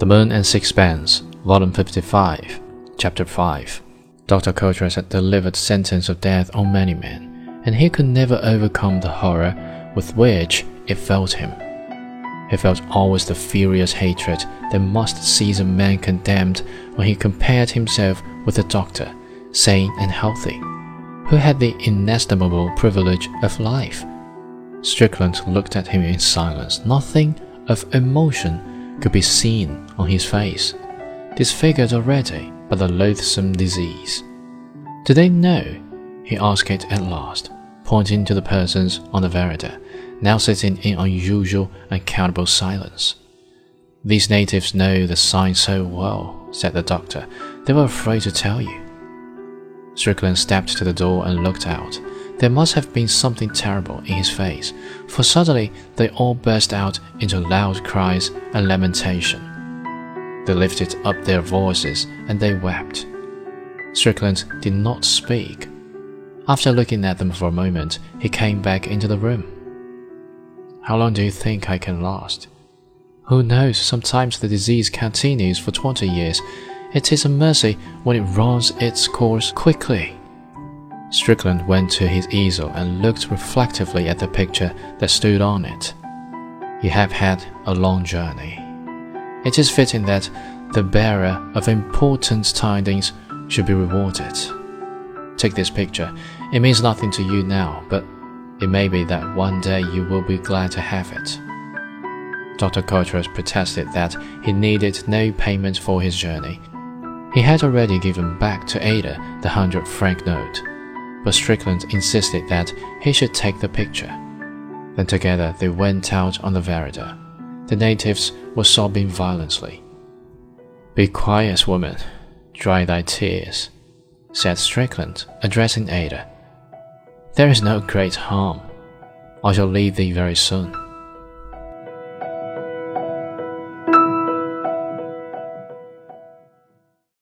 Moon and Sixpence, Volume 55, Chapter 5. Dr. Coutras had delivered sentence of death on many men, and he could never overcome the horror with which it filled him. He felt always the furious hatred that must seize a man condemned when he compared himself with a doctor, sane and healthy, who had the inestimable privilege of life. Strickland looked at him in silence. Nothing of emotion could be seen on his face, disfigured already by the loathsome disease. "Do they know?" he asked it at last, pointing to the persons on the veranda, now sitting in unusual, uncountable silence. "These natives know the sign so well," said the doctor. "They were afraid to tell you." Strickland stepped to the door and looked out. There must have been something terrible in his face, for suddenly they all burst out into loud cries and lamentation. They lifted up their voices and they wept. Strickland did not speak. After looking at them for a moment, he came back into the room. "How long do you think I can last?" "Who knows? Sometimes the disease continues for 20 years. It is a mercy when it runs its course quickly." Strickland went to his easel and looked reflectively at the picture that stood on it. "You have had a long journey. It is fitting that the bearer of important tidings should be rewarded. Take this picture. It means nothing to you now, but it may be that one day you will be glad to have it." Dr. Coutras protested that he needed no payment for his journey. He had already given back to Ada the 100-franc note, but Strickland insisted that he should take the picture. Then together they went out on the veranda. The natives were sobbing violently. "Be quiet, woman. Dry thy tears," said Strickland, addressing Ada. "There is no great harm. I shall leave thee very soon."